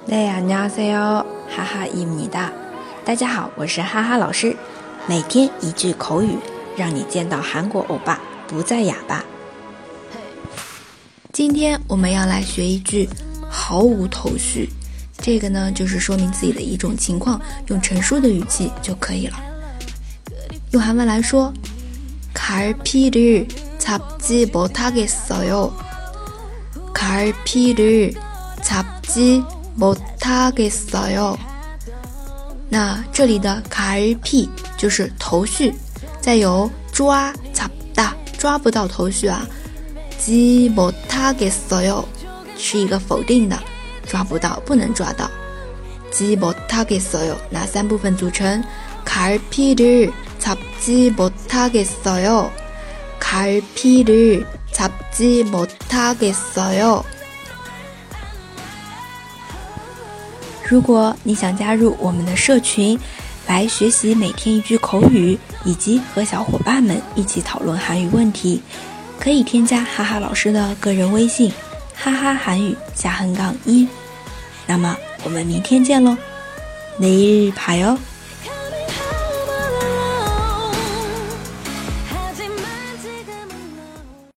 네, 안녕하세요. 하하입니다. 大家好，我是哈哈老师。每天一句口语，让你见到韩国欧巴不再哑巴。今天我们要来学一句毫无头绪，这个呢就是说明自己的一种情况，用陈述的语气就可以了。用韩文来说，갈피를 잡지 못하겠어요. 갈피를 잡지 못하겠어요. 那这里的갈피就是头绪，再有抓잡다抓不到头绪啊，지 못하겠어요是一个否定的，抓不到不能抓到，지 못하겠어요那三部分组成，갈피를 잡지 못하겠어요. 갈피를 잡지 못하겠어요. 如果你想加入我们的社群，来学习每天一句口语，以及和小伙伴们一起讨论韩语问题，可以添加哈哈老师的个人微信哈哈韩语下横杠1。那么我们明天见咯，내일 봐요。